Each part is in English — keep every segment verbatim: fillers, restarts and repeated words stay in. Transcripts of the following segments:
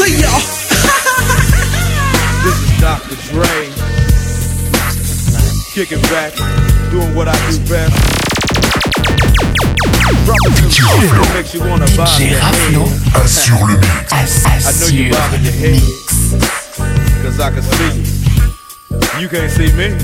see y'all. This is Doctor Dre, kicking back, doing what I do best. Dropping some shit that makes you wanna bob your head. Assure le mix. I know you bobbing your head, cause I can see you. You can't see me.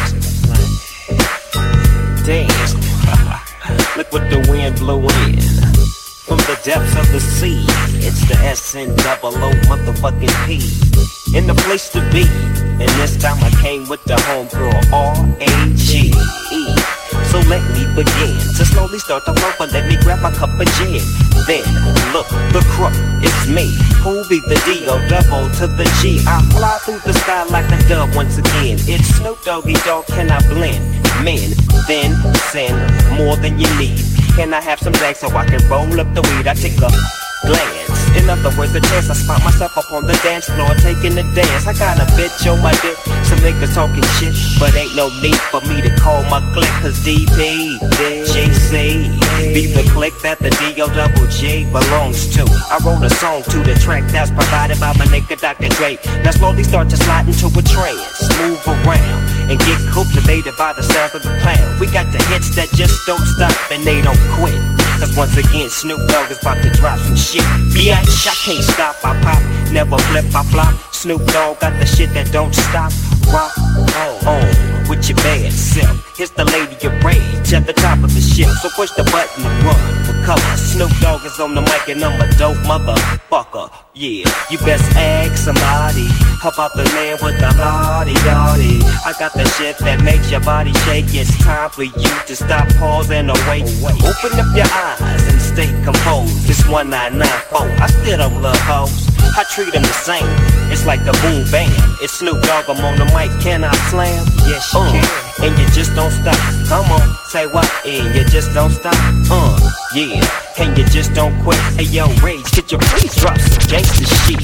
Damn, look what the wind blew in. From the depths of the sea, it's the S N double O motherfucking P. In the place to be, and this time I came with the homegirl R A G E. So let me begin to slowly start the flow, but let me grab my cup of gin. Then, look, the crook, it's me. Who be the D O double to the G? I fly through the sky like a dove once again. It's Snoop Doggy Dogg, can I blend? Men, then send more than you need. Can I have some legs so I can roll up the weed? I take a glance. In other words, the chance I spot myself up on the dance floor taking a dance. I got a bitch on my dick, some niggas talking shit, but ain't no need for me to call my clique. Cause D P, G C, be the clique that the D O double G belongs to. I wrote a song to the track that's provided by my nigga Doctor Dre. Now slowly start to slide into a trance, move around and get cultivated by the sound of the clown. We got the hits that just don't stop and they don't quit. Cause once again, Snoop Dogg is about to drop some shit. Bitch, I can't stop, I pop, never flip, I flop. Snoop Dogg got the shit that don't stop. Rock on with your bad self. Here's the lady of rage at the top of the ship. So push the button and run for cover. Snoop Dogg is on the mic and I'm a dope motherfucker. Yeah, you best ask somebody about the man with the body, body. I got the shit that makes your body shake. It's time for you to stop, pause, and awake. Open up your eyes and stay composed. It's one nine nine four. I still don't love hoes. I treat them the same. It's like a boom bam. It's Snoop Dogg, I'm on the mic. Can I slam? Yes, you uh, can. And you just don't stop. Come on, say what? And you just don't stop. Uh, yeah. And you just don't quit. Hey yo, Rage, get your please drop some gangsta shit.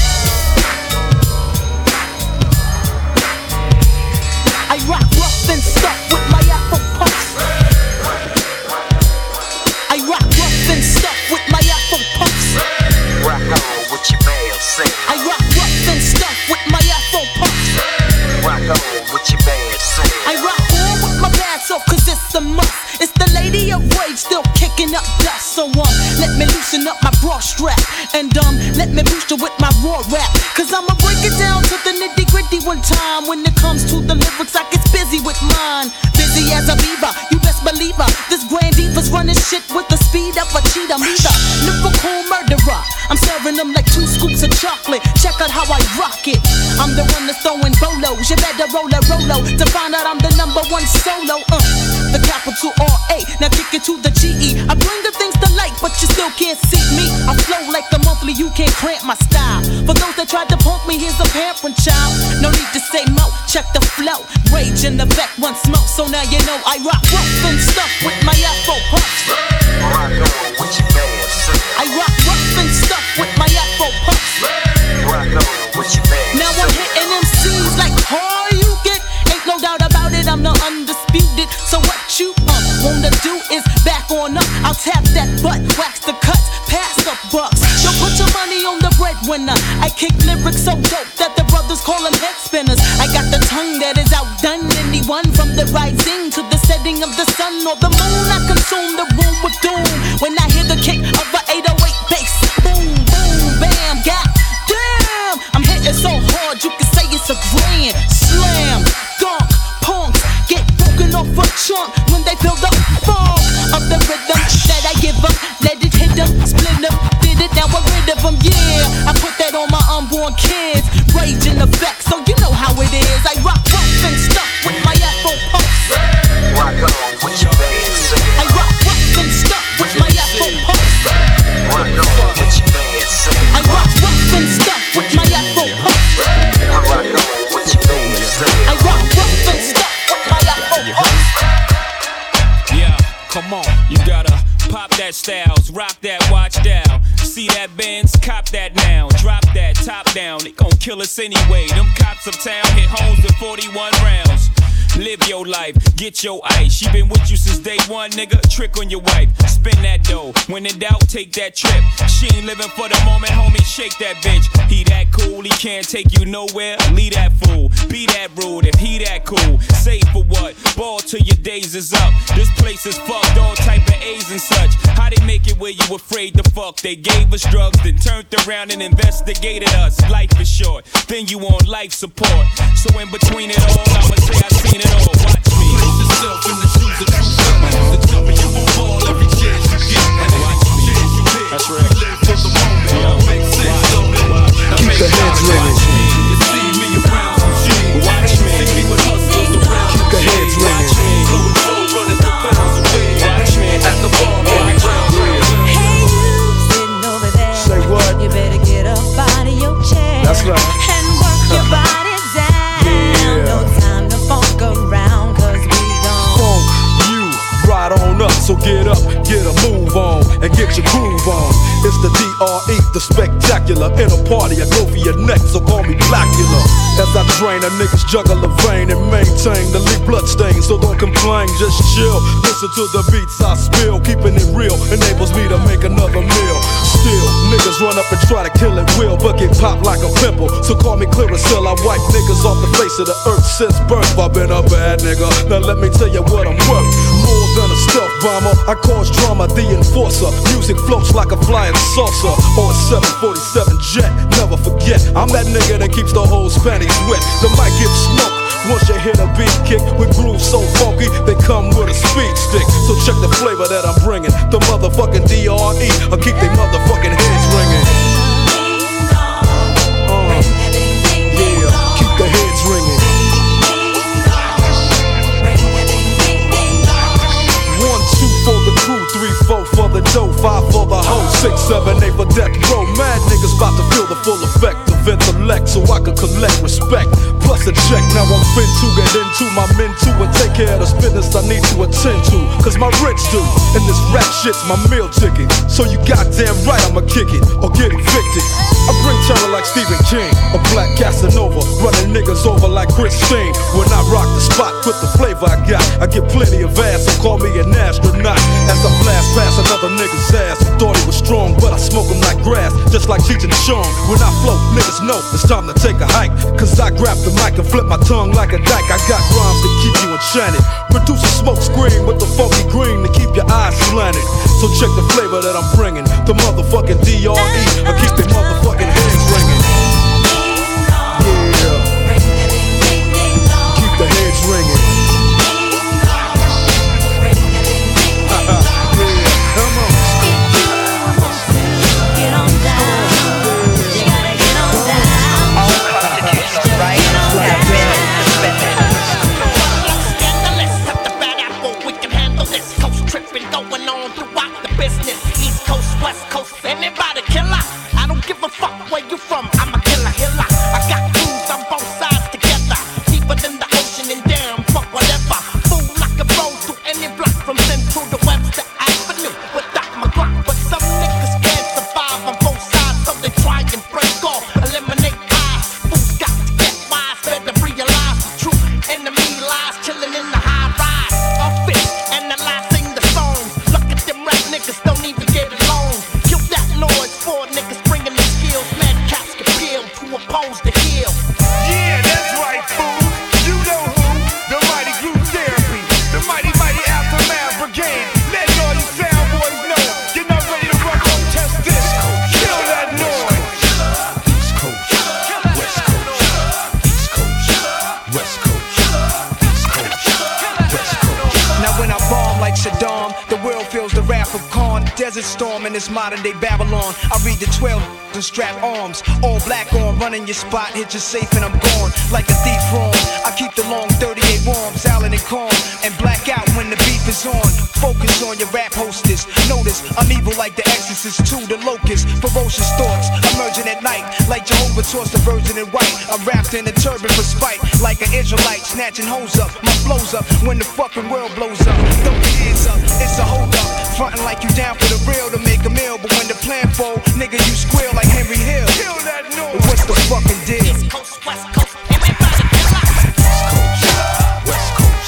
I rock rough and stuff with my Afro puffs. I rock rough and stuff with my Afro puffs. Rock on with your band, sing. I rock rough and stuff with my Afro puffs. Rock on with your band, sing. I rock on with my bad self cause it's a must. It's the lady of rage still kicking up dust. So um, let me loosen up my bra strap. And um, let me boost you with my raw rap. Cause I'ma break it down to the nitty gritty one time. When it comes to the lyrics I get busy with mine. Busy as a beaver, you best believe her. This grand diva's running shit with the speed of a cheetah. Me the lyrical murderer, I'm serving them like two scoops of chocolate. Check out how I rock it. I'm the one that's throwing bolos. You better roll a rolo to find out I'm the number one solo. Uh, the capital R A, now kick it to the G E. I bring the things to light, but you still can't see me. I flow like a monthly, you can't cramp my style. For those that tried to punk me, here's a pampering child. No need to say mo, check the flow. Rage in the back, one smoke, so now you know I rock rough and stuff with my Afro puffs. Rock on with your band, sing. I rock rough and stuff with my Afro puffs. Rock on with your band, now I'm hitting M Cs like how you get. Ain't no doubt about it, I'm the undisputed. So what you uh, wanna do is back on up. I'll tap that butt, wax the cuts, pass the bucks. Yo, put your money on the breadwinner. I kick lyrics so dope that the brothers call them head spinners. I got the tongue that is outdone anyone. From the rising to the setting of the sun or the moon, I consume the room with doom. When I hear the kick of a eight oh eight bass, boom, boom, bam, god damn. I'm hitting so hard you can say it's a grand slam. Dunk, punks get broken off a chunk when they feel the funk of the rhythm that I give them. Let it hit them, split them, did it, now we're rid of them, yeah. I put that on my unborn kids. Rage in effect, so you know how it is. I rock rough and stuff with my Afro puffs. Rock on with your band, sing. I rock rough and stuff with my Afro puffs. Rock on with your band, sing. I rock rough and stuff with my Afro puffs. I rock on with your band, sing. I rock rough and stuff with my Afro puffs. Yeah, come on, you gotta pop that styles, rock that watch down. See that Benz, cop that now. Drop that top down, it gon' kill us anyway. Them cops uptown hit homes with forty-one rounds. live your life, get your ice. She been with you since day one, nigga. Trick on your wife, spend that dough. When in doubt, take that trip. She ain't living for the moment, homie. Shake that bitch. He that cool, he can't take you nowhere. Leave that fool, be that rude. If he that cool, say for what? Ball till your days is up. This place is fucked, all type of A's and such. How they make it where you afraid to fuck? They gave us drugs, then turned around and investigated us. Life is short, then you on life support. So in between it all, I'ma say I seen it all. Watch me. Place yourself in the shoes of true suckers. The jumping you will fall every chance you get. And every chance you hit, that's right. You live for the moment. Yo. Make sense of it. Keep the heads ringing. You see me around some shit. Watch me. See me with hustlers around. Keep the heads ringing. Running the pounds away. Watch me. At the bar, baby, round. Hey, you sitting over there. Say what? You better get up out of your chair. That's right. And work your body down. Yeah. No time to funk around, cause we gon' Funk you right on up. So get up, get a move on, and get your groove on. It's the D R E, the spectacular. In a party, I go for your neck, so call me Blackula. As I drain a niggas juggle a vein and maintain the leak blood stain. So don't complain, just chill. Listen to the beats I spill. Keeping it real enables me to make another meal. Still, niggas run up and try to kill it will, but get popped like a pimple. So call me Clearasil, I wipe niggas off the face of the earth since birth. I've been a bad nigga, now let me tell you what I'm worth. More than a stealth bomber, I cause drama, the enforcer. Music floats like a flying saucer or a seven forty-seven jet. Never forget, I'm that nigga that keeps the whole panties wet. The mic gets smoke once you hit a beat kick with grooves so funky, they come with a speed stick. So check the flavor that I'm bringing. The motherfucking D R E, I keep they motherfucking heads ringing. Uh, yeah, keep the heads ringing. One, two for the crew, three, four for the dough, five for the hoe, six, seven, eight for death row. Mad niggas about to feel the full effect of intellect, so I can collect respect. Plus a check, now I'm fin to get into my men too and take care of this business I need to attend to. Cause my rich do, and this rap shit's my meal ticket. So you goddamn right I'ma kick it or get evicted. I bring terror like Stephen King, a black Casanova, running niggas over like Christine. When I rock the spot with the flavor I got, I get plenty of ass, so call me an astronaut. As I blast past another nigga's ass who thought he was strong, but I smoke him like grass, just like Cheech and Chong. When I flow, niggas know it's time to take a hike, cause I grab the mic and flip my tongue like a dyke. I got rhymes to keep you enchanted, produce a smoke screen with the funky green to keep your eyes slanted. So check the flavor that I'm bringing, the motherfucking D R E, I keep the motherfucking hands ringing. Yeah, keep the heads ringing. Storm in this modern day Babylon. I read the twelve and strap arms, all black on, running your spot, hit you safe and I'm gone like a thief wrong. I keep the long thirty-eight warm, silent and calm, and black out when the beef is on. Focus on your rap hostess. Notice I'm evil like the Exorcist to the locust. Ferocious thoughts emerging at night, like Jehovah tossed the virgin in white. I'm wrapped in a turban for spite, like an Israelite snatching hoes up. My flow's up when the fucking world blows up. Throw your hands up, it's a hold up. Frontin' like you down for the real to make a meal, but when the plan fold, nigga, you squeal like Henry Hill. Kill that noise. What's the fucking deal? East Coast, West Coast, everybody get lost. East Coast, West Coast.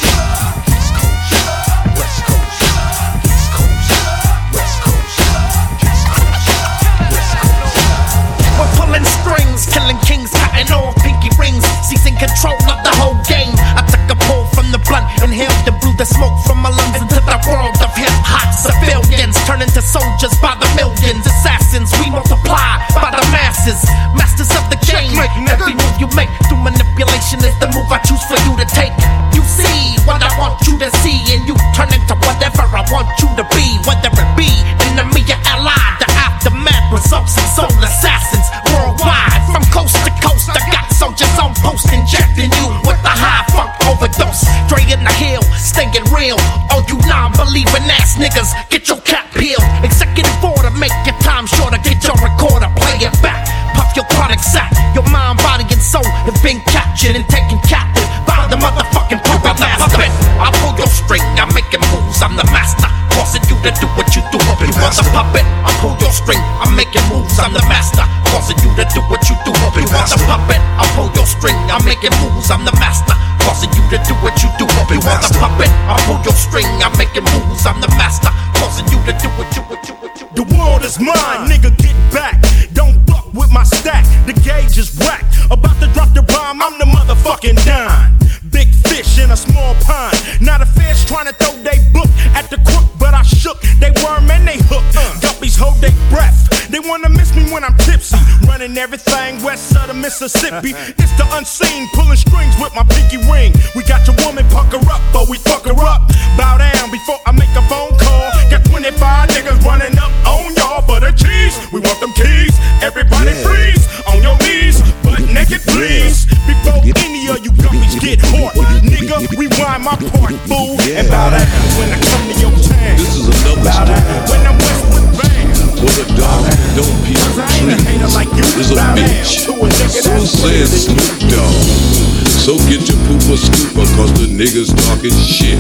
captured and taken captive by the motherfucking puppet master. I pull your string, I'm making moves, I'm the master. Causing you to do what you do. You want the puppet? I pull your string, I'm making moves, I'm the master. Causing you to do what you do. You want the puppet? I pull your string, I'm making moves, I'm the master. Causing you to do what you do. You want the puppet? I pull your string, I'm making moves, I'm the master. Causing you to do what you what you what you. The world is mine, nigga, get back. Don't fuck with my stack, the gauge is whack. About to drop the bomb, I'm the motherfucking dime. Big fish in a small pond. Not a fish trying to throw they book at the crook, but I shook. They worm and they hook. Guppies hold their breath. They wanna miss me when I'm tipsy. Running everything west of the Mississippi. It's the unseen, pulling strings with my pinky ring. We got your woman pucker up, but we fuck her up. Bow down before I make a phone call. Got twenty-five niggas running up on y'all for the cheese. We want them keys. Everybody yeah. freeze on your knees, butt naked please. Before any of you guppies get hot, nigga, rewind my part, fool. Yeah. And bow down when I come to your town. This is another bow story. Down when I'm west with band. For the dog that don't peep trees like is a bitch. So says Snoop Dogg. So get your pooper scooper, cause the niggas talking shit.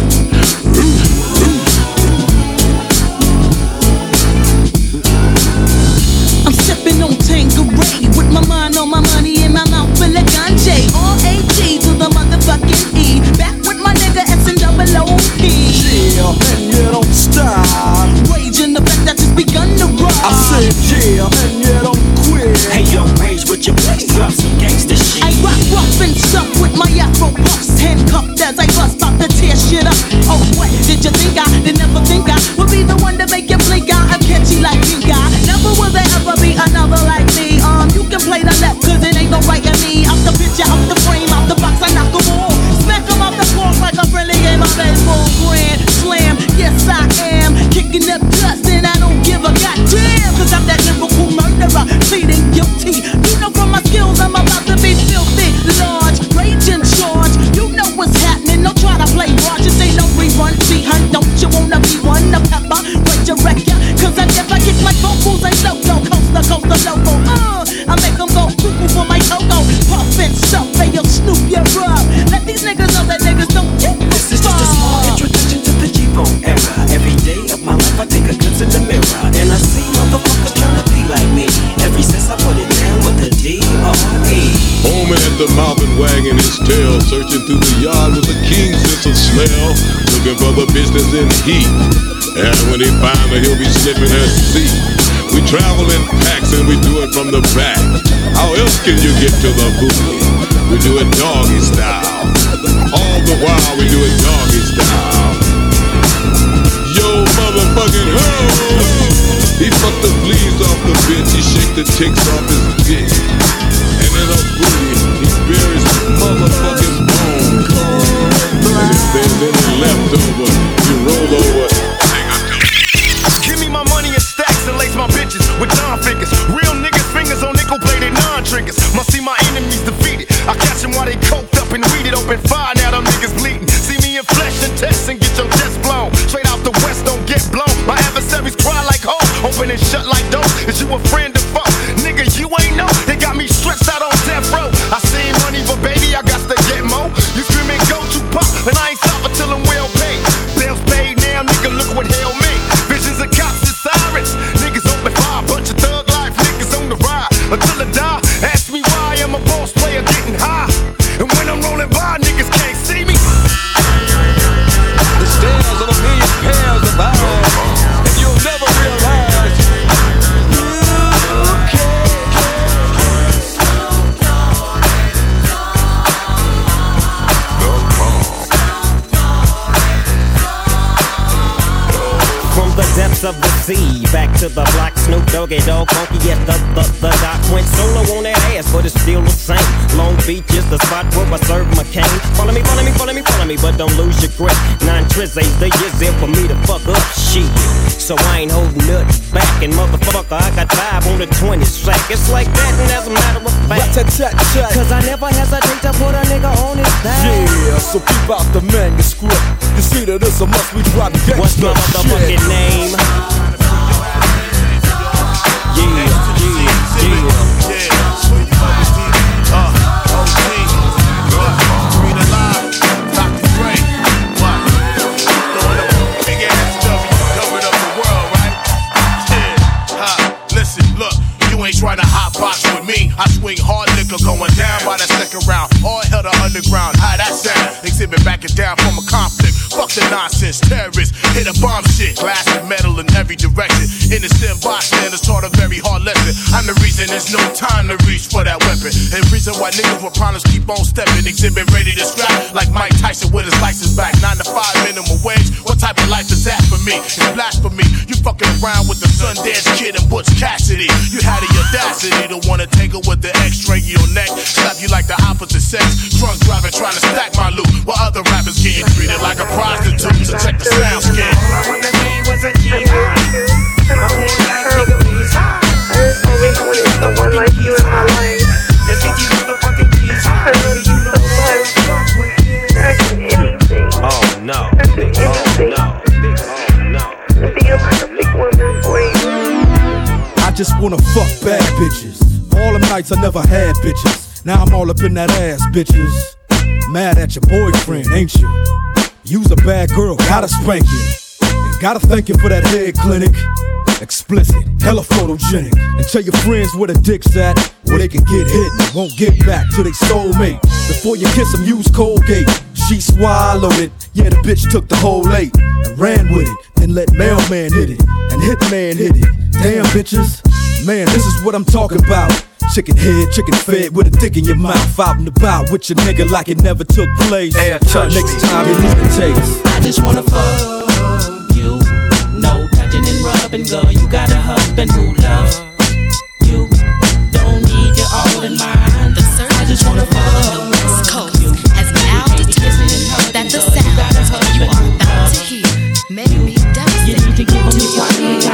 I'm sipping on Tanqueray with my mind on my money and my mouth full of ganja. R A G to the motherfucking E. Back with my nigga S and double O P. Yeah, and you don't stop. Rage in the fact that it's begun to rock. I said yeah, and you don't quit. Hey yo, Rage with your place, drop some gangsta shit. I rock rough and stuff with my afro puffs, handcuffed as I bust out to tear shit up. Oh what, did you think I, did never think I would be the one to make you blink out? I'm catchy like pink eye. Never will there ever be another like me. Um, you can play the left cause it ain't no right in me. Out the picture, out the frame, out the box, I knock them all. Smack them off the floor like a friendly game of baseball. Grand slam, yes I am. Kicking up dust and I don't give a goddamn. Cause I'm that lyrical murderer, pleading guilty. You know from my skills I'm about to be filthy. Large, rage in charge. You know what's happening, don't try to play large. This ain't no rerun, see hun, don't you wanna be one? The pepper, wait your record. Cause I never get my vocals, ain't loco. Coaster, coaster, loco. Uh, I make them go cuckoo for my cocoa. Puff and stuff, hey yo, Snoop, you're up. Let these niggas know that niggas don't get me. This is just a small introduction to the G-Bone era. Every day of my life I take a glimpse in the mirror and I see motherfuckers trying to be like me. Ever since I put it down with the D R E. Homie at the mouth and wagging his tail, searching through the yard with a keen sense of smell, looking for the business in heat. And when he find her, he'll be sniffing her seat. We travel in packs and we do it from the back. How else can you get to the booty? We do it doggy style. All the while we do it doggy style. Yo, motherfucking ho! He fucked the fleas off the bitch, he shake the ticks off his dick. And in her booty, he buries the motherfucking bone. And if there's any left over, you roll over. Give me my money in stacks and lace my bitches with John figures. Real niggas' fingers on nickel-plated non-triggers. Must see my enemies defeated. I catch them while they coked up and weeded. Open fire, now them niggas bleeding. See me in flesh and test and get your chest blown. Straight out the west, don't get blown. My adversaries cry like hoes, open and shut like doors. Is you a friend or foe? Nigga, you ain't know. They got me stretched out on death row. I seen money, but baby, I got to get more. You screaming go to pop, and I ain't stopping till I'm well paid. Bills paid now, nigga, look what hell made. Visions of cops and sirens. Niggas open fire, bunch of thug life niggas on the ride. Until I die, ask me why I'm a boss player getting high. And when I'm rolling by, niggas can't see me. The stairs of a million pairs of eyes, and you'll never realize you can. From the depths of the sea, back to the block, Snoop Doggy Dogg, funky, yes, the, the, the doc went solo on that ass, but it's still the same. Long Beach is the spot where I serve my cane. Follow me, follow me, follow me, follow me, but don't lose your grip. Nine trizzies, the years there for me to fuck up shit. So I ain't holding nothing back, and motherfucker, I got five on the twenty sack. It's like that, and as a matter of fact, cause I never hesitate to put a nigga on his back. Yeah, so keep out the manuscript. You see that it's a must, we drop gangsta. What's my motherfucking name? Yeah, yeah, yeah. hard liquor going down by the second round. All hell to underground, how that sound? Exhibit backing down from a conflict. Fuck the nonsense, terrorists hit a bomb shit. Glass and metal in every direction. Innocent bystanders taught a very hard lesson. I'm the reason there's no time to reach for that weapon. And reason why niggas with problems keep on stepping. Exhibit ready to scrap like Mike Tyson with his license back. Nine to five minimum wage. What type of life is that for me? It's blasphemy. You fucking around with the Sundance Kid and Butch Cassidy. You had the audacity to wanna take her with the X-ray in your neck. Slap you like the opposite sex. Drunk driving trying to stack my loot. While other rappers getting treated like a prostitute. So check the sound scan. I wanted someone like you in my life. I love you so much. I can anything. Oh no. I can anything. Oh no. Be a perfect woman for you. I just wanna fuck bad bitches. All them nights I never had bitches. Now I'm all up in that ass, bitches. Mad at your boyfriend, ain't you? You's a bad girl, gotta spank you. And gotta thank you for that head clinic. Explicit, hella photogenic. And tell your friends where the dick's at, where they can get hit and won't get back to they soulmate. Before you kiss them, use Colgate. She swallowed it, yeah, the bitch took the whole eight and ran with it. Then let mailman hit it, and hitman hit it. Damn bitches, man, this is what I'm talking about. Chicken head, chicken fed with a dick in your mouth. Out and about with your nigga like it never took place. Hey, next time you need to taste. I just wanna fuck you. No touching and rubbing, girl. You got a husband who loves you. Don't need you all in mind. I just wanna fuck West Coast has now determined that the sound you are about to hear may be devastating.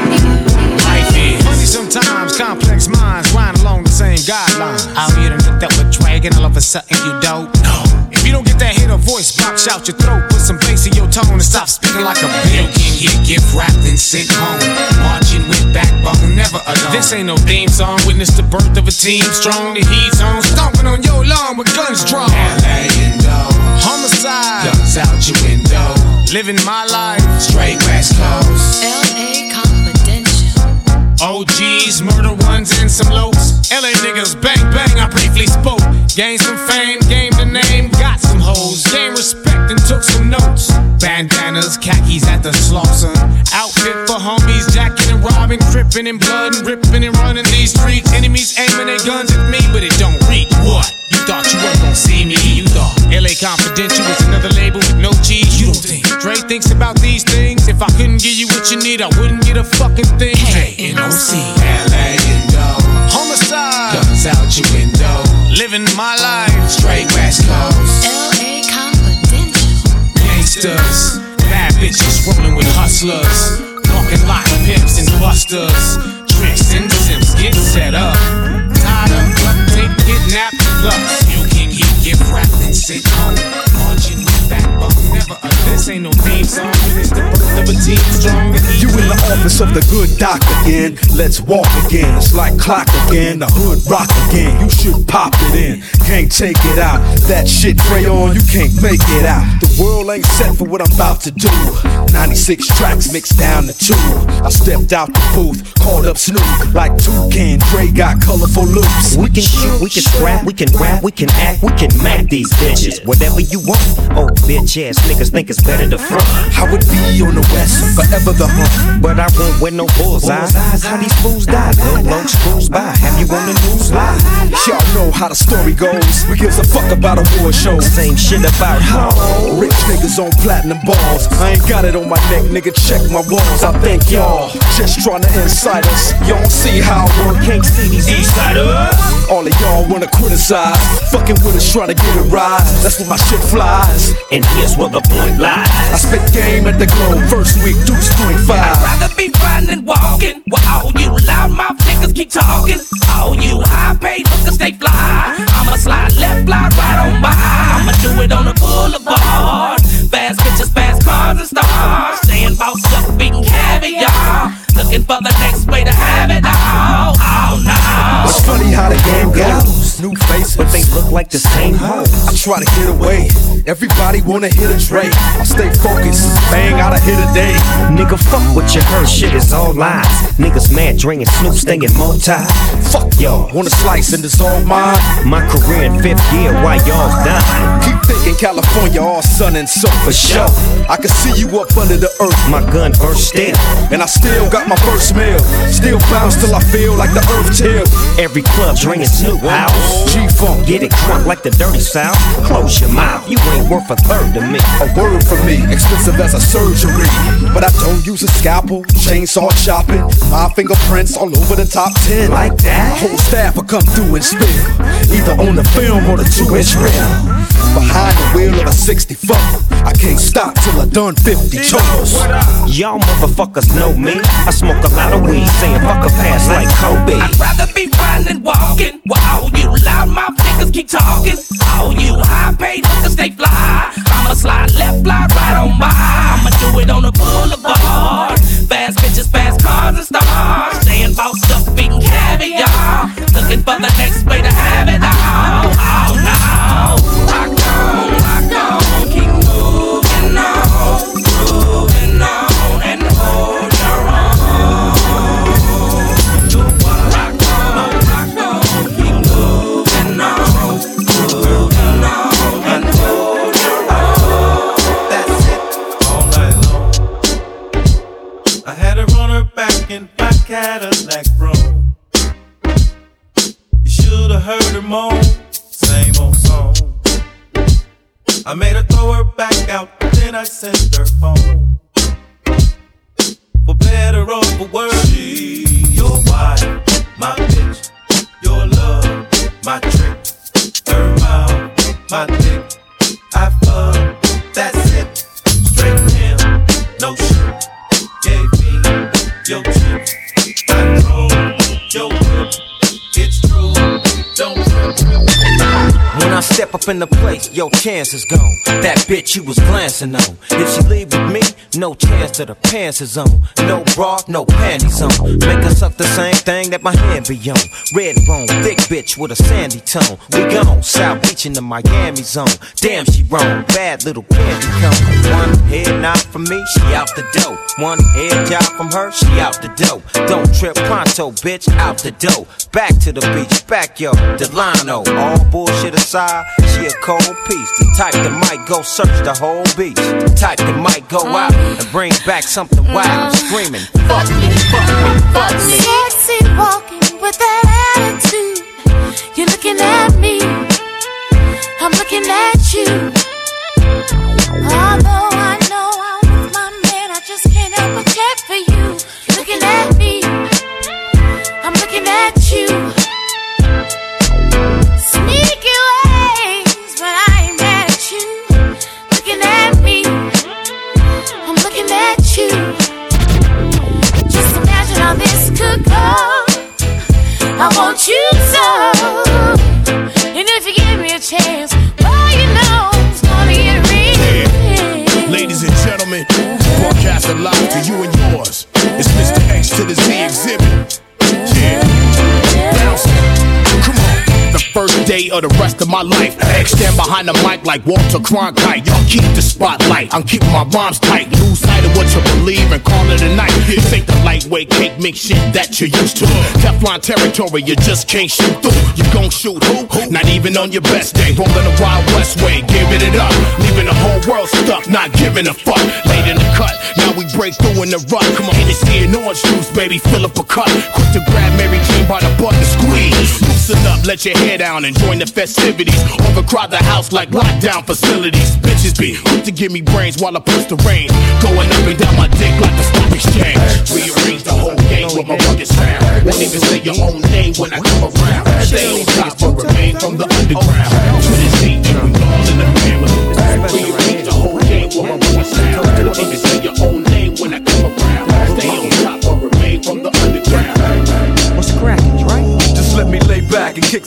Funny sometimes, complex minds grind along the same guidelines. Out here and looked up a dragon, all of a sudden you don't know. If you don't get that hit or voice box out your throat, put some bass in your tone and stop speaking like a bitch. You can get gift wrapped and sent home, marching with backbone, never alone. This ain't no theme song, witness the birth of a team strong. The heat's on, stomping on your lawn with guns drawn. L A Indo, homicide, guns out your window. Living my life, straight West Coast. L A Confidential. O Gs, murder ones and some locs. L A niggas, bang bang, I briefly spoke. Gained some fame, gained the name, got some hoes. Gained respect and took some notes. Bandanas, khakis at the slaughter. Outfit for homies, jacking and robbing, crippin' in blood and ripping and running these streets. Enemies aiming their guns at me, but it don't reach. What? You thought you weren't gonna see me, you thought L A Confidential was another label with no cheese. You don't think Dre thinks about these things? If I couldn't give you what you need, I wouldn't get a fucking thing. J N O C, L A Indo, homicide, guns out your window. Living my life, straight West Coast. L A Confidential. Gangsters, bad bitches rolling with hustlers, walking like pimps and busters. Tricks and simps get set up, tied up, duct tape, kidnapped, plus you can get gift wrapped and sit home, marching with backbone, never a this ain't no theme song, it's the birth of a team strong. You in the office of the good doc again. Let's walk again. It's like clock again. The hood rock again. You should pop it in. Can't take it out. That shit crayon, you can't make it out. The world ain't set for what I'm about to do. ninety-six tracks mixed down to two. I stepped out the booth, called up Snoop like Toucan. Dre got colorful loops. We can shoot, we can scrap, we can rap, we can act, we can mac these bitches. Whatever you want. Oh, bitch ass niggas think it's better to front. I would be on the west, forever the hunt. But I won't wear no bullseyes. How these fools die? Little long screws by. Have you on the news live? Y'all know how the story goes. We gives a fuck about award shows. Same shit about how rich niggas on platinum balls. I ain't got it on my neck, nigga. Check my walls. I thank y'all just trying to incite us. Y'all don't see how I work. Can't see these eastsiders. All of y'all wanna criticize. Fucking with us trying to get a rise. That's where my shit flies. And here's where the point lies. I spit game at the Globe. First week, Deuce twenty-five. I'd rather be riding and walking. While all you loudmouth niggas keep talking. All you high-paid hookers stay fly. I'ma slide left, slide right on by. I'ma do it on the boulevard. Fast bitches, fast cars and stars. Staying bossed up, beating caviar. Looking for the next way to have it all. Oh no. It's funny how the game goes. New faces, but they look like the same hoe. I try to get away, everybody wanna hit a Dre. I stay focused, bang out a hit a day. Nigga, fuck what you heard, shit is all lies. Niggas mad, Dre and Snoop staying multi. Fuck y'all, wanna slice and it's all mine. My career in fifth gear, why y'all dying? Keep thinking California all sun and sun for sure. I can see you up under the earth. My gun burst still, and I still got my first meal. Still bounce till I feel like the earth chill. Every club drinking Snoop house. G-Funk, get it crunk like the dirty South. Close your mouth, you ain't worth a third to me. A word from me, expensive as a surgery. But I don't use a scalpel, chainsaw chopping. My fingerprints all over the top ten. Like that? Whole staff will come through and spill, either on the film or the two-inch reel. Behind the wheel of a sixty-four, I can't stop till I done fifty chores. Y'all motherfuckers know me. I smoke a lot of weed, saying fuck a pass like Kobe. I'd rather be riding and walking, while all you loudmouth niggas keep talking. All you high-paid niggas stay fly. I'ma slide left, fly right on by. I'ma do it on the boulevard. Fast bitches, fast cars and stars. Staying bossed up, eating caviar. Looking for the next way to have it all. Oh no, rock on, rock on, keep moving on, moving on, and hold your own. Rock on, rock on, keep moving on, moving on, and hold your own. That's it, all night long. I had to run her back in my Cadillac room. You should've heard her moan, same old song. I made her throw her back out, then I sent her home. For better or for worse, she your wife, my bitch, your love, my trick, her mouth, my dick. I fuck, that's it, straight in, no shit. Gave me your chips, I drove your whip. It's true, don't trip. When I step up in the place, your chance is gone. That bitch you was glancing on. If she leave with me, no chance till the pants is on. No bra, no panties on. Make her suck the same thing that my hand be on. Red bone, thick bitch with a sandy tone. We gone, South Beach in the Miami zone. Damn, she wrong, bad little candy cone. One head nod from me, she out the dough. One head job from her, she out the dough. Don't trip pronto, bitch, out the dough. Back to the beach, back yo, Delano. All bullshit aside, she a cold piece. The type that might go search the whole beach. The type that might go out and bring back something wild. Screaming, fuck me, fuck me, fuck me. Sexy walking with that attitude. You're looking at me, I'm looking at you. Although I know I'm with my man, I just can't help but check for you. You're looking at me, I'm looking at you. Sneaky ways, but I ain't mad at you. Looking at me, I'm looking at you. Just imagine how this could go. I want you so. And if you give me a chance, well, you know it's gonna get real. Yeah. Ladies and gentlemen, broadcasting live to you and yours. It's Mister X to the Z exhibit. Yeah. Bounce. Come on. The first day of the rest of my life. X stand behind the mic like Walter Cronkite. Y'all keep the spotlight. I'm keeping my rhymes tight. Lose sight of what you believe and call it a night. This ain't the lightweight cake mix shit that you're used to. Teflon territory, you just can't shoot through. You gon' shoot who? Not even on your best day. Rolling the Wild West way, giving it up. Leaving the whole world stuck, not giving a fuck. Late in the cut, now we break through in the rut. Come on, Hennessy and orange juice, baby, fill up a cup. Quick to grab Mary Jane by the butt and squeeze. Loosen up, let your hair down and join the festivities. Overcrowd the house like lockdown facilities. Bitches be quick to give me brains while I push the rain. Going up and down my dick like the stock exchange. Rearrange the whole game with my rugged sound. Won't even say your own name when I come around. Stay on top but remain from the underground. To the seat, we all in the family. Rearrange the whole game with my rugged sound. Won't even say your own name when I come around. Stay on top but remain from the underground. What's cracking, right? Just let me lay back and kick some old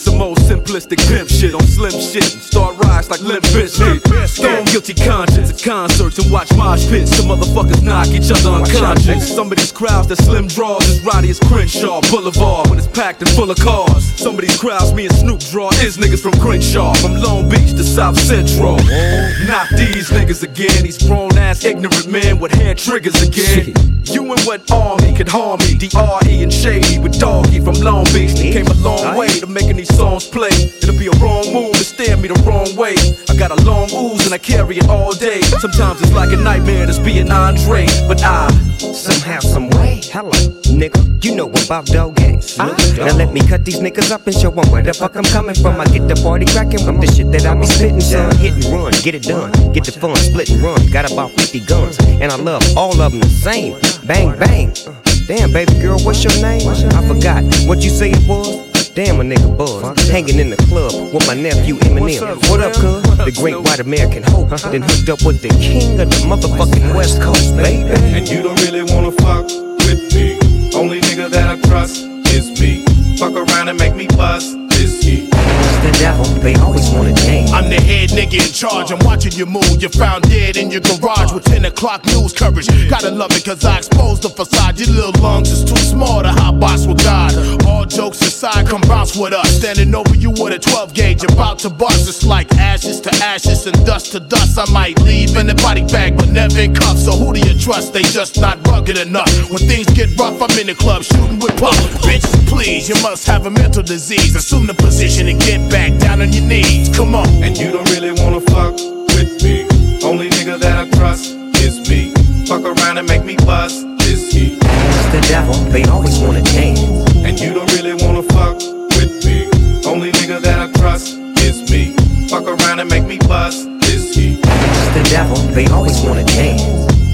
simplistic pimp shit on slim shit and start rise like Limp Bizkit. Stone guilty conscience at concerts and watch mosh pits. Some motherfuckers knock each other unconscious. Some of these crowds that slim draws is rowdy as Crenshaw Boulevard when it's packed and full of cars. Some of these crowds me and Snoop draw is niggas from Crenshaw, from Long Beach to South Central. Not these niggas again, these grown ass ignorant men with hair triggers again. You and what army could harm me? D R E and Shady with Doggy from Long Beach. They came a long way to making these songs play. It'll be a wrong move to stare me the wrong way. I got a long ooze and I carry it all day. Sometimes it's like a nightmare just being Andre, but I somehow, some way, hello, nigga, you know about dog games. Now let me cut these niggas up and show them where the fuck I'm coming from. I get the party cracking with the shit that I be spitting, son. Hit and run, get it done, get the fun, split and run. Got about fifty guns, and I love all of them the same. Bang, bang. Damn, baby girl, what's your name? I forgot what you say it was. Damn, a nigga buzz, hanging in the club with my nephew Eminem. What up, cuz? The great white American hope, then hooked up with the king of the motherfucking West Coast, baby. And you don't really wanna fuck with me. Only nigga that I trust is me. Fuck around and make me bust this heat. The devil, they always wanna change. I'm the head nigga in charge, I'm watching you move. You're found dead in your garage with ten o'clock news coverage. Gotta love it cause I exposed the facade. Your little lungs is too small to hot box with God. All jokes aside, come bounce with us. Standing over you with a twelve gauge, about to bust. It's like ashes to ashes and dust to dust. I might leave in a body bag, but never in cuffs. So who do you trust? They just not rugged enough. When things get rough, I'm in the club shooting with puff. Bitches, please, you must have a mental disease. Assume the position and get back down on your knees. Come on. And you don't really wanna fuck with me. Only nigga that I trust is me. Fuck around and make me bust this heat. The devil, they always wanna change. And you don't really wanna fuck with me. Only nigga that I trust is me. Fuck around and make me bust this heat. The devil, they always wanna change.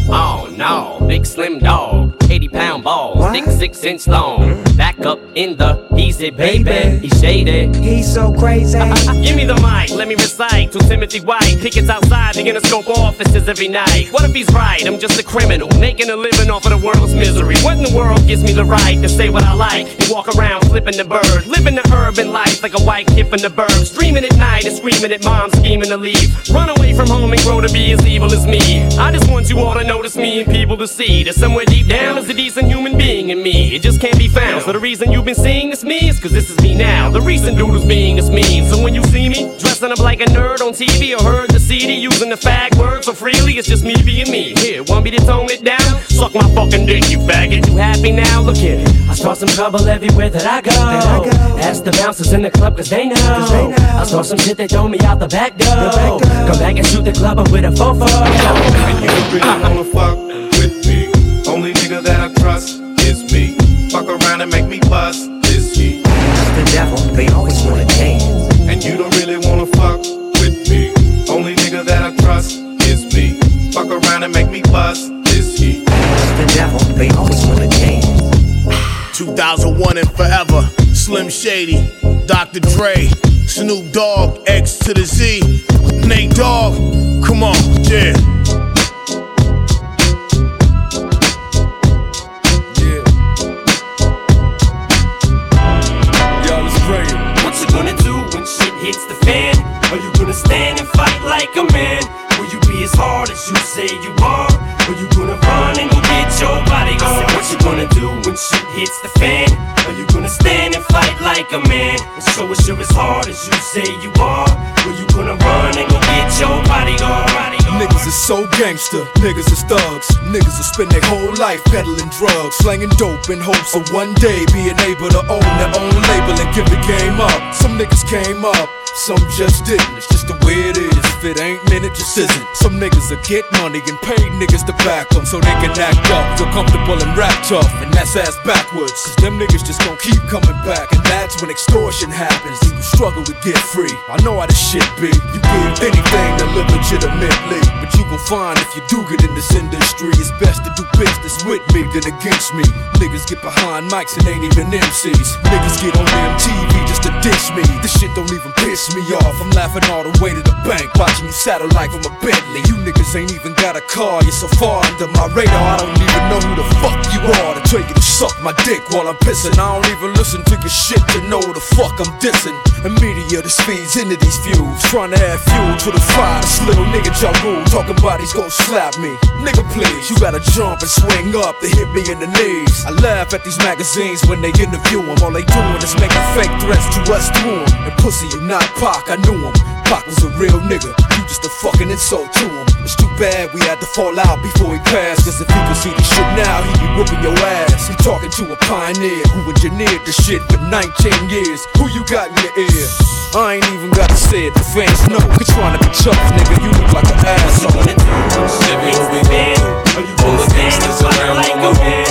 Oh no, big slim dog, eighty pound balls, thick six inch long. Back up in the easy, baby. He's shady. He's so crazy. Give me the mic, let me recite to Timothy White. Pickets outside the Interscope offices every night. What if he's right? I'm just a criminal, making a living off of the world's misery. What in the world gives me the right to say what I like and walk around flipping the bird, living the urban life like a white kid from the burbs, dreaming at night and screaming at mom, scheming to leave, run away from home and grow to be as evil as me. I just want you all to notice me and people to see that somewhere deep down there's a decent human being in me. It just can't be found. So the reason you've been seeing this me is cause this is me now. The recent dude who's being is mean. So when you see me dressing up like a nerd on T V or heard the C D using the fag word so freely, it's just me being me. Here, want me to tone it down? Suck my fucking dick, you faggot. You happy now? Look here, I start some trouble everywhere that I go. That I go. Ask the bouncers in the club cause they know. Cause they know. I start some shit, they throw me out the back door. The back door. Come back and shoot the club up with a fofo. And you don't really wanna fuck with me. Only nigga that I trust is me. Fuck around and make me bust this heat. The devil, they always wanna change. And you don't really wanna fuck with me. Only nigga that I trust is me. Fuck around and make me bust this heat. The devil, they always wanna change. two thousand one and forever. Slim Shady, Doctor Dre, Snoop Dogg, X to the Z, Nate Dogg. Come on, yeah. What you gonna do when shit hits the fan? Are you gonna stand and fight like a man? Will you be as hard as you say you are? Or you gonna run and go get your bodyguard? What you gonna do when shit hits the fan? Are you gonna stand and fight like a man? And show us you're as hard as you say you are? Or you gonna run and go get your bodyguard? Niggas is so gangster, niggas is thugs. Niggas will spend their whole life peddling drugs, slanging dope in hopes of one day being able to own their own label and give the game up. Some niggas came up, some just didn't. It's just the way it is. If it ain't meant, it just isn't. Some niggas will get money and pay niggas to back them so they can act up, feel comfortable and rap tough, and that's ass backwards. Cause them niggas just gon' keep coming back, and that's when extortion happens and you struggle to get free. I know how this shit be. You give anything to live legitimately, but you gon' find if you do get in this industry, it's best to do business with me than against me. Niggas get behind mics and ain't even M Cs. Niggas get on M T V just to diss me. This shit don't even piss piss me off. I'm laughing all the way to the bank, watching you saddle like from a Bentley. You niggas ain't even got a car, you're so far under my radar. I don't even know who the fuck you are to tell you to suck my dick while I'm pissing. I don't even listen to your shit to know who the fuck I'm dissing. The media that speeds into these views, trying to add fuel to the fire. This little nigga Ja Rule talking about he's gon' slap me. Nigga please, you gotta jump and swing up to hit me in the knees. I laugh at these magazines when they interview him. All they doing is making fake threats to us through him. And pussy, you not Pac, I knew him. Pac was a real nigga, you just a fucking insult to him. It's too bad we had to fall out before he passed, cause if you could see this shit now, he'd be whooping your ass. He talking to a pioneer who engineered the shit for nineteen years. Who you got in your ear? I ain't even gotta say it, the fans know. You're trying to be tough, nigga, you look like an asshole. Everywhere we go, all the gangsters around on my home.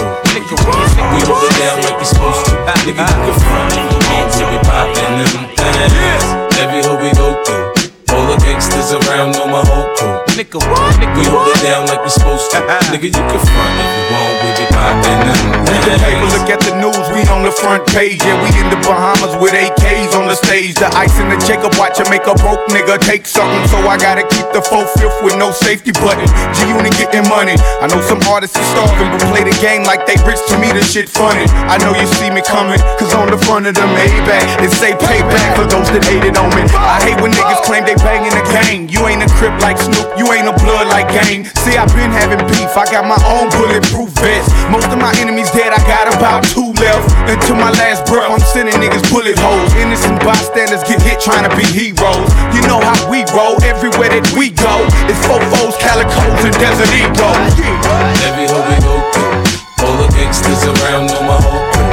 We hold it down like we supposed to. Nigga, you can front if you want to. We poppin' them things. Every hood we go through, all the gangsters around on my whole crew. Nigga, what? We hold it down like we supposed to. Nigga, you can front if you want. We be poppin' them things. Hey, look at the news, we on the front page. Yeah, we in the Bahamas with A Ks on the stage. The ice in the Jacob watch make a broke nigga take something. So I gotta keep the four-fifth with no safety button. G-Unit getting money. I know some artists are starving, but play the game like they rich. To me, the shit funny. I know you see me coming, cause on the front of the Maybach, it say payback for those that hated on me. I hate when niggas claim they banging the gang. You ain't a crip like Snoop, you ain't a blood like Gang. See, I been having beef, I got my own bulletproof vest. Most of my enemies dead, I got about two left. Until my last breath, I'm sending niggas bullet holes. Innocent bystanders get hit trying to be heroes. You know how we roll, everywhere that we go. It's fofos, calicos, and Desert Eagles. Every hood we go through, all the gangsters around on my whole crew.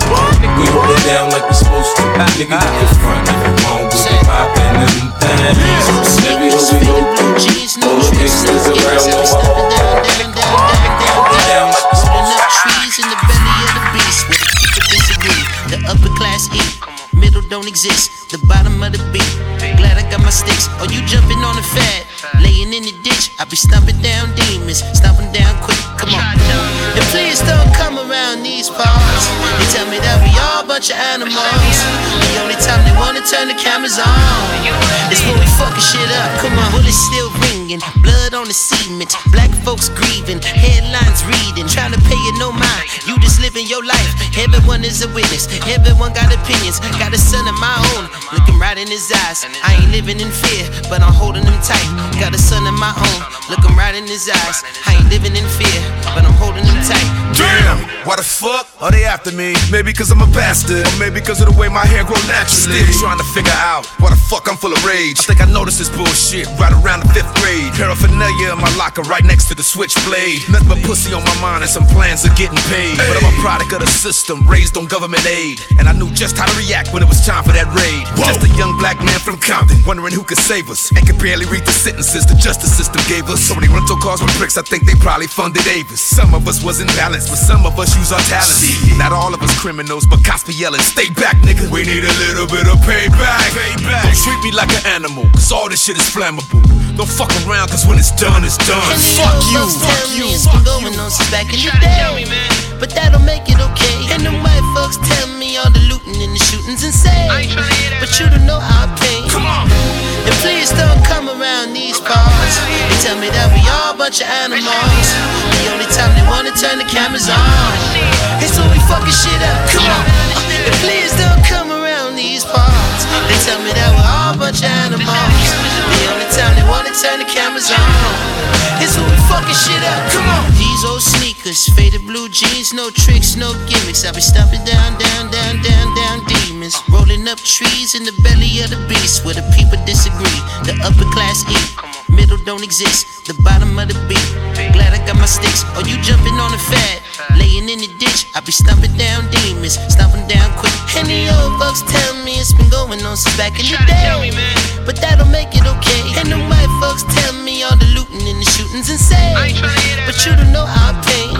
We hold it down like we supposed to. Nigga, you can front if you want. We be poppin' them things. Every hood we go through, all the gangsters around on my whole crew. Hold it down like we supposed to. Trees in the belly of the beast where the people disagree. The upper class eat, middle don't exist. The bottom of the beat. Glad I got my sticks. Or you jumping on the fat, laying in the ditch. I be stomping down demons, stomping down quick. Come on. And please don't come around these parts. They tell me that we all a bunch of animals. The only time they wanna turn the cameras on is when we fucking shit up. Come on, bullets still ringing, blood on the cement. Black folks grieving, headlines reading, trying to pay you no mind. You just living your life. Everyone is a witness. Everyone got opinions. Got a son of my own, looking right in his eyes. I ain't living in fear, but I'm holding him tight. Got a son of my own, looking right in his eyes. I ain't living in fear, but I'm holding him tight. Damn, why the fuck are they after me? Maybe cause I'm a bastard, or maybe cause of the way my hair grow naturally. Still trying to figure out why the fuck I'm full of rage. I think I noticed this bullshit right around the fifth grade. Paraphernalia in my locker right next to the switchblade. Nothing but pussy on my mind and some plans of getting paid. But I'm a product of the system, raised on government aid. And I knew just how to react when it was time for that raid. Whoa. Just a young black man from Compton, wondering who could save us, and could barely read the sentences the justice system gave us. So many rental cars with bricks, I think they probably funded Avis. Some of us wasn't balanced, but some of us use our talents. Not all of us criminals, but cops be yelling, stay back, nigga. We need a little bit of payback. payback. Don't treat me like an animal, cause all this shit is flammable. Don't fuck around, cause when it's done, it's done. And Fuck you, fuck you. It's been going on since back in the day, but that don't make it okay. And them white folks tell me all the looting and the shootings insane, but you don't know our pain. Come on. And please don't come around these parts. They tell me that we all a bunch of animals. The only time they wanna turn the cameras on is when we fucking shit up. Come on. And please don't come around these parts. They tell me that we're all a bunch of animals. The only time they wanna turn the cameras on is when we fucking shit up. Come on. These old sneakers, faded blue jeans, no tricks, no gimmicks. I be stomping down, down, down, down, down demons. Rolling up trees in the belly of the beast where the people disagree. The upper class eat, middle don't exist. The bottom of the beat. Glad I got my sticks. Or you jumping on the fat, laying in the ditch. I be stomping down demons, stomping down quick. And the old folks tell me it's been going on since back in the day, but that don't make it okay. And the white folks tell me all the looting and the shootings insane, but you don't know our pain.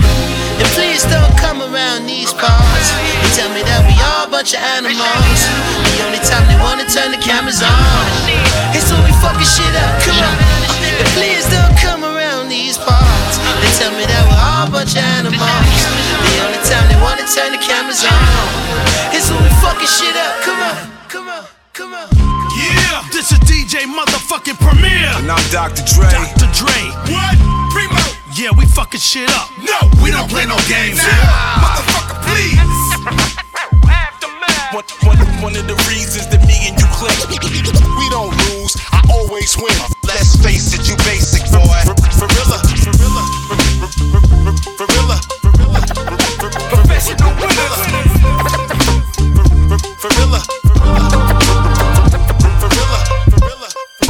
And please don't come around these parts. They tell me that we all a bunch of animals. The only time they wanna turn the cameras on is when we fucking shit up. Come on. And please don't come around these parts. They tell me that we're all a bunch of animals. The only time they wanna turn the cameras on is when we fucking shit up. Come on, come on. Come on. Yeah, this is D J motherfucking Premier. And I'm Doctor Dre. Doctor Dre. What? Primo. Yeah, we fucking shit up. No, we don't play no games here. Motherfucker, please. One, one, one of the reasons that me and you click. We don't lose, I always win. Let's face it, you basic, boy. For real, for real, for real, professional winner. For real, for real, for real.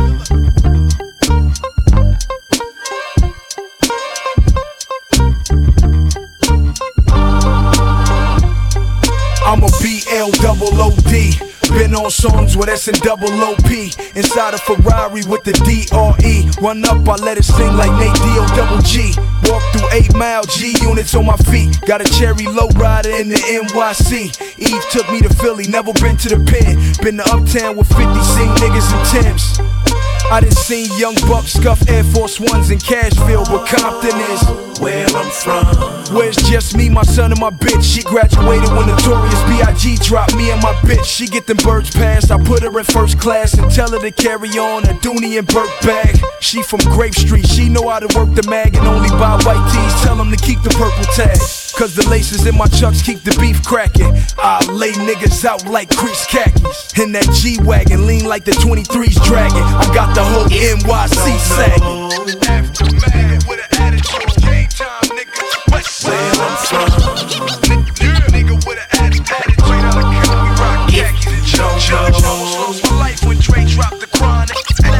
I'm a B L double O D. Been on songs with S and double O P. Inside a Ferrari with the D R E. Run up, I let it sing like Nate D O double G. Walk through eight mile G units on my feet. Got a cherry lowrider in the N Y C. Eve took me to Philly, never been to the pen. Been to Uptown with fifty, seen niggas in Timbs. I done seen young bucks scuff Air Force Ones in Cashville, but Compton is where I'm from. Where's just me, my son, and my bitch? She graduated when Notorious B I G dropped me and my bitch. She get them birds passed, I put her in first class and tell her to carry on a Dooney and Burke bag. She from Grape Street, she know how to work the mag and only buy white tees. Tell them to keep the purple tag, cause the laces in my chucks keep the beef cracking. I lay niggas out like crease khakis. In that G-Wagon, lean like the twenty-threes dragging. I got the whole N Y C sagging. Aftermath with an attitude, game time, nigga. West where I'm from. Nigga with an attitude, out of count, we rock khakis and jump. Lost my life when Dre dropped the chronic.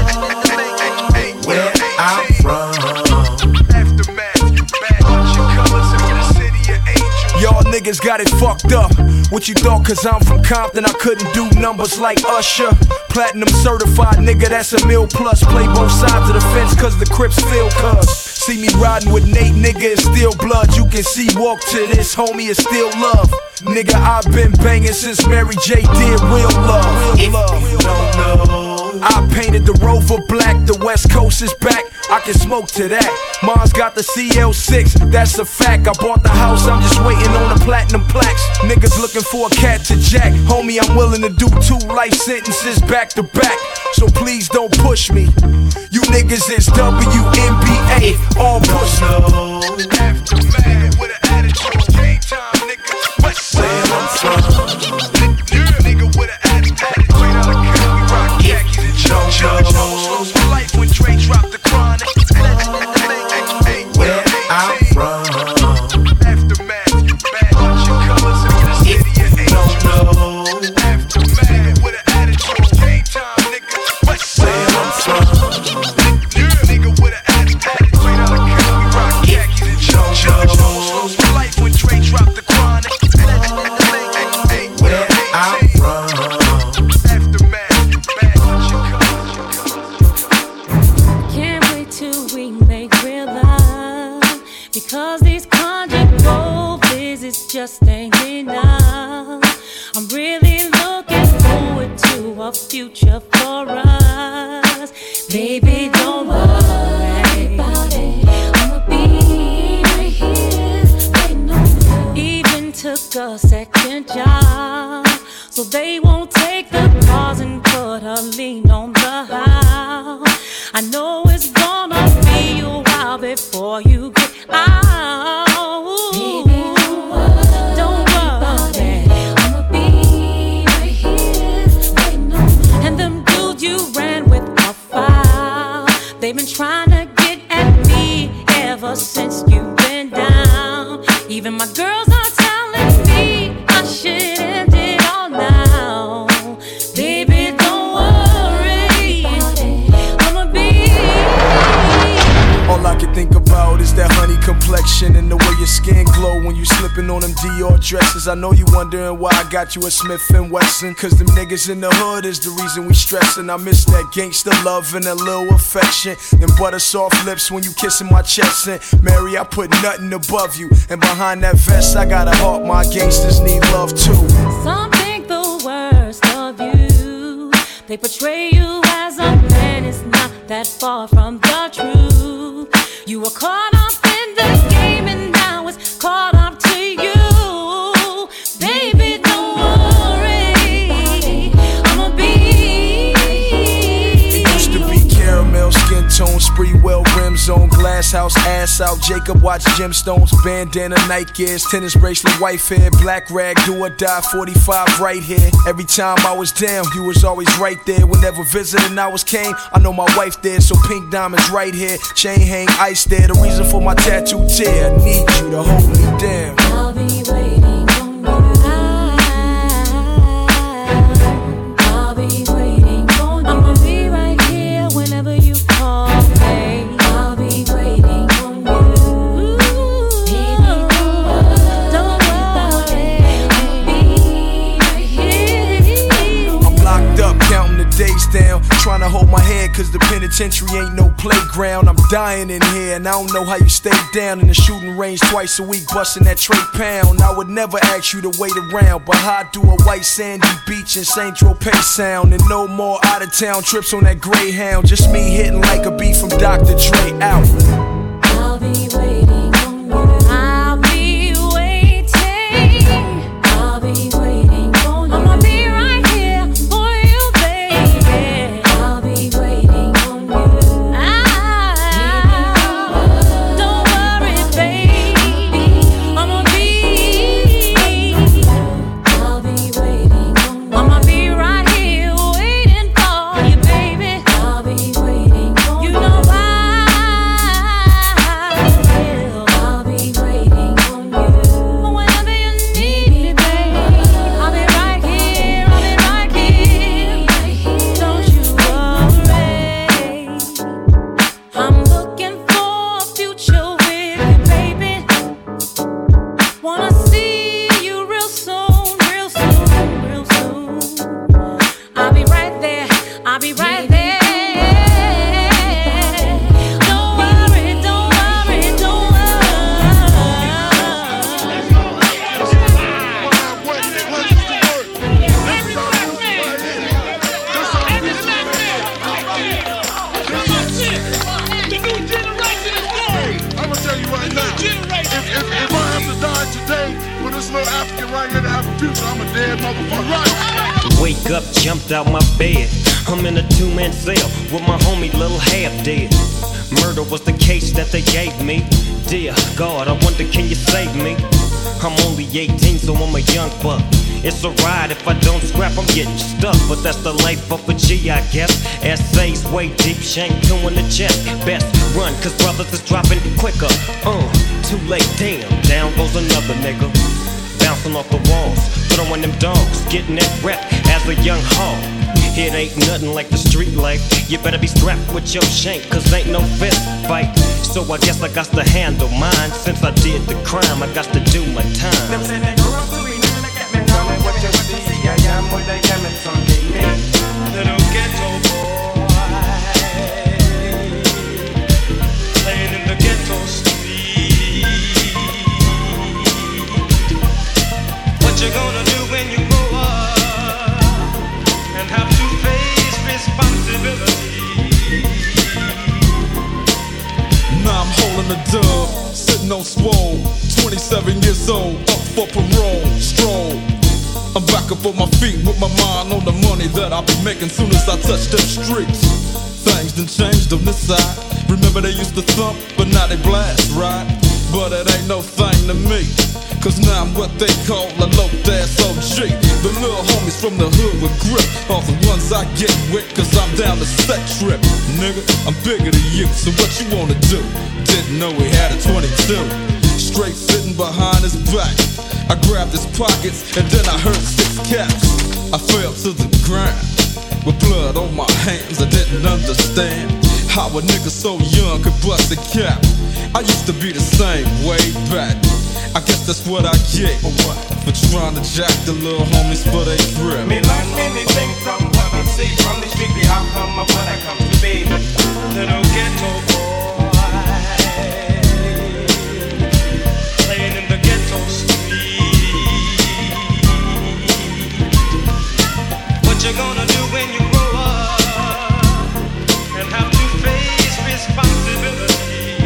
Where I'm from. Aftermath, bad bunch of colors in the city of angels. Y'all niggas got it fucked up. What you thought, cause I'm from Compton, I couldn't do numbers like Usher. Platinum certified, nigga, that's a mil plus. Play both sides of the fence, cause the Crips feel cuz. See me riding with Nate, nigga, it's still blood. You can see, walk to this, homie, it's still love. Nigga, I've been banging since Mary J did real love. Real love. I painted the Rover black, the West Coast is back. I can smoke to that. Mars got the C L six, that's a fact. I bought the house, I'm just waiting on the platinum plaques. Niggas looking for a cat to jack. Homie, I'm willing to do two life sentences back to back. So please don't push me. You niggas is W N B A, all push me. Aftermath with an attitude, game time, nigga. West where I'm from. Nigga with an attitude, out of count, we rock khakis and jump. Lost my life when Dre dropped the chronic. Where I'm from. Aftermath, bad bunch of colors in the city of angels. Aftermath with an attitude, game time, nigga. West where I'm from. Nigga with an attitude, out of count, we rock khakis and jump. Lost my life when Dre dropped the chronic. Where I'm from. Aftermath, bad bunch of colors. Can't wait till we make real love, because these conjugal visits just ain't enough. I'm really looking forward to a future for us. Baby, don't worry about it. I'ma be right here waiting on you. Even took a second job, so they won't take the cars and put a lien on the house. I know it's gonna be a while before you get out. Baby, don't worry, don't worry. I'ma be right here waiting on you. And them dudes you ran with are foul. They've been trying to get at me ever since you've been down. Even my girls are telling me I should end it all now. Baby, don't worry, I'ma be. All I can think about is that honey complexion and the way your skin glow when you slipping on them Dior dresses. I know you wondering why I got you a Smith and Wesson, cause them niggas in the hood is the reason we stressin'. I miss that gangster love and that little affection. Them butter soft lips when you kissin' my chest. And Mary, I put nothing above you, and behind that vest I got a heart my gangsters need love too. Some think the worst of you. They portray you as a man, it's not that far from the truth. You were caught up in the game and now it's caught up to you. Baby, don't worry, I'ma be house, ass out. Jacob watch gemstones, bandana, Nike Airs, tennis bracelet, wife hair, black rag, do or die, forty-five right here. Every time I was down, you was always right there. Whenever visiting hours came, I know my wife there, so pink diamonds right here, chain hang, ice there. The reason for my tattoo tear, I need you to hold me down. I'll be waiting on you. I'll be waiting on you. I'ma be right here whenever you call, babe. I'll be waiting on you. Don't worry, I'll be right here. I'm locked up, counting the days down, trying to hold my head cause the penitentiary ain't no playground. I'm dying in here and I don't know how you stay down in the shooting range twice a week, busting that tray pound. I would never ask you to wait around, but how I do a white sandy beach in Saint Tropez sound, and no more out of town trips on that Greyhound. Just me hitting like a beat from Doctor Dre out. I'll be waiting on you. I'll be waiting. I'll be waiting on you. I'ma be right here for you, baby. I'll be waiting on you. Ah, don't worry, baby. I'ma be. I'll be waiting on you. I'ma be right here waiting for you, baby. I'll be waiting on you. You know why? I'll be waiting on you. Whenever you need me, baby, I'll be right here. I'll be right here. Don't you worry. I'm looking for a future with you, baby. Wanna see you real soon, real soon, real soon. I'll be right there. I'll be right there. Don't worry, don't worry, don't I'ma tell you right now, if, if, if I have to die today for this little African right here to have a future, I'm a dead motherfucker. Right? Wake up, jumped out my bed. I'm in a two-man cell with my homie Lil Half Dead. Murder was the case that they gave me. Dear God, I wonder can you save me? I'm only eighteen, so I'm a young buck. It's a ride, if I don't scrap, I'm getting stuck. But that's the life of a G, I guess. Essays way deep, shank two in the chest. Best run, cause brothers is dropping quicker. Uh, too late, damn, down goes another nigga. Bouncing off the walls, throwing them dogs, getting that rep as a young hog. It ain't nothing like the street life. You better be strapped with your shank, cause ain't no fist fight. So I guess I got to handle mine. Since I did the crime, I got to do my time. Them say they grow up to be new, they get me coming. What you see, I am what they get me someday. Little ghetto boy, playing in the ghetto street. What you gonna do when you grow up and have to face responsibility? Now I'm holding a dub, sitting on swole, twenty-seven years old, up for parole, stroll. I'm back up on my feet with my mind on the money that I'll be making soon as I touch them streets. Things done changed on this side. Remember they used to thump, but now they blast, right? But it ain't no thing to me, cause now I'm what they call a low-ass O G. The little homies from the hood with grip are the ones I get with, cause I'm down to set trip. Nigga, I'm bigger than you, so what you wanna do? Didn't know he had a twenty-two. Straight sitting behind his back, I grabbed his pockets and then I heard six caps. I fell to the ground with blood on my hands. I didn't understand how a nigga so young could bust a cap. I used to be the same way back. I guess that's what I get for trying to jack the little homies for they grip. Me learn many things from what I see from the street. Be how come of what I come to be. Little ghetto boy, playing in the ghetto street. What you gonna do when you grow up and have to face responsibility?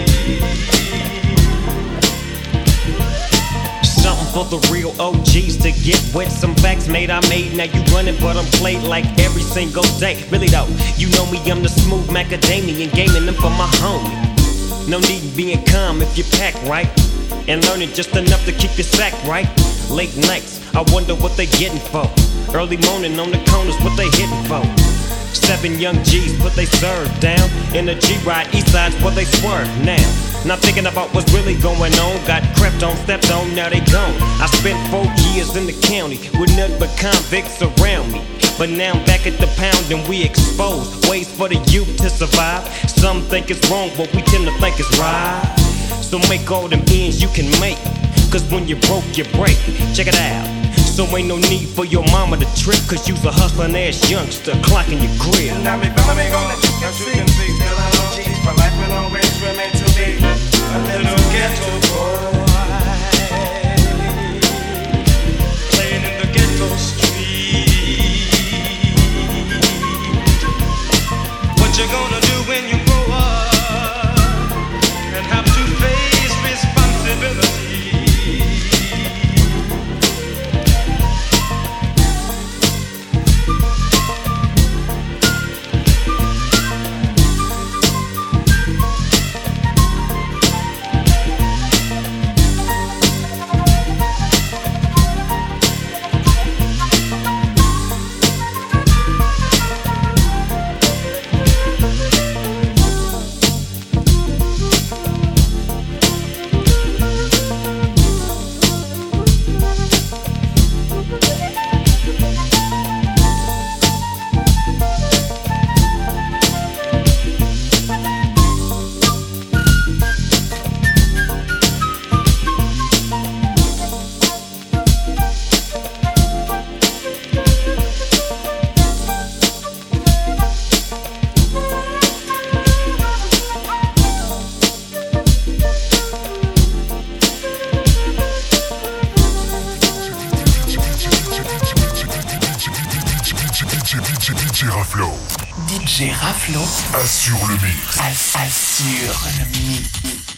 Something for the real O Gs to get with. Some facts made I made, now you running, but I'm played like every single day. Really though, you know me, I'm the smooth macadamian, gaming them for my homie. No need in being calm if you pack right, and learning just enough to keep your sack right. Late nights, I wonder what they getting for. Early morning on the corners, what they hitting for. Seven young G's put they serve down in the G-Ride, east side's where they swerve now. Not thinking about what's really going on. Got crept on, stepped on, now they gone. I spent four years in the county with nothing but convicts around me. But now I'm back at the pound and we exposed ways for the youth to survive. Some think it's wrong, but we tend to think it's right. So make all them ends you can make, cause when you broke, you break. Check it out. So ain't no need for your mama to trip, cause you's a hustling ass youngster clocking your crib. Now me fella me gonna as you can see, still I know cheese. My life will always remain to be a little ghetto boy, playing in the ghetto street. What you gonna do when you grow up and have to face responsibility? D J Raflo. D J Raflo. Assure le mix. Assure le mix.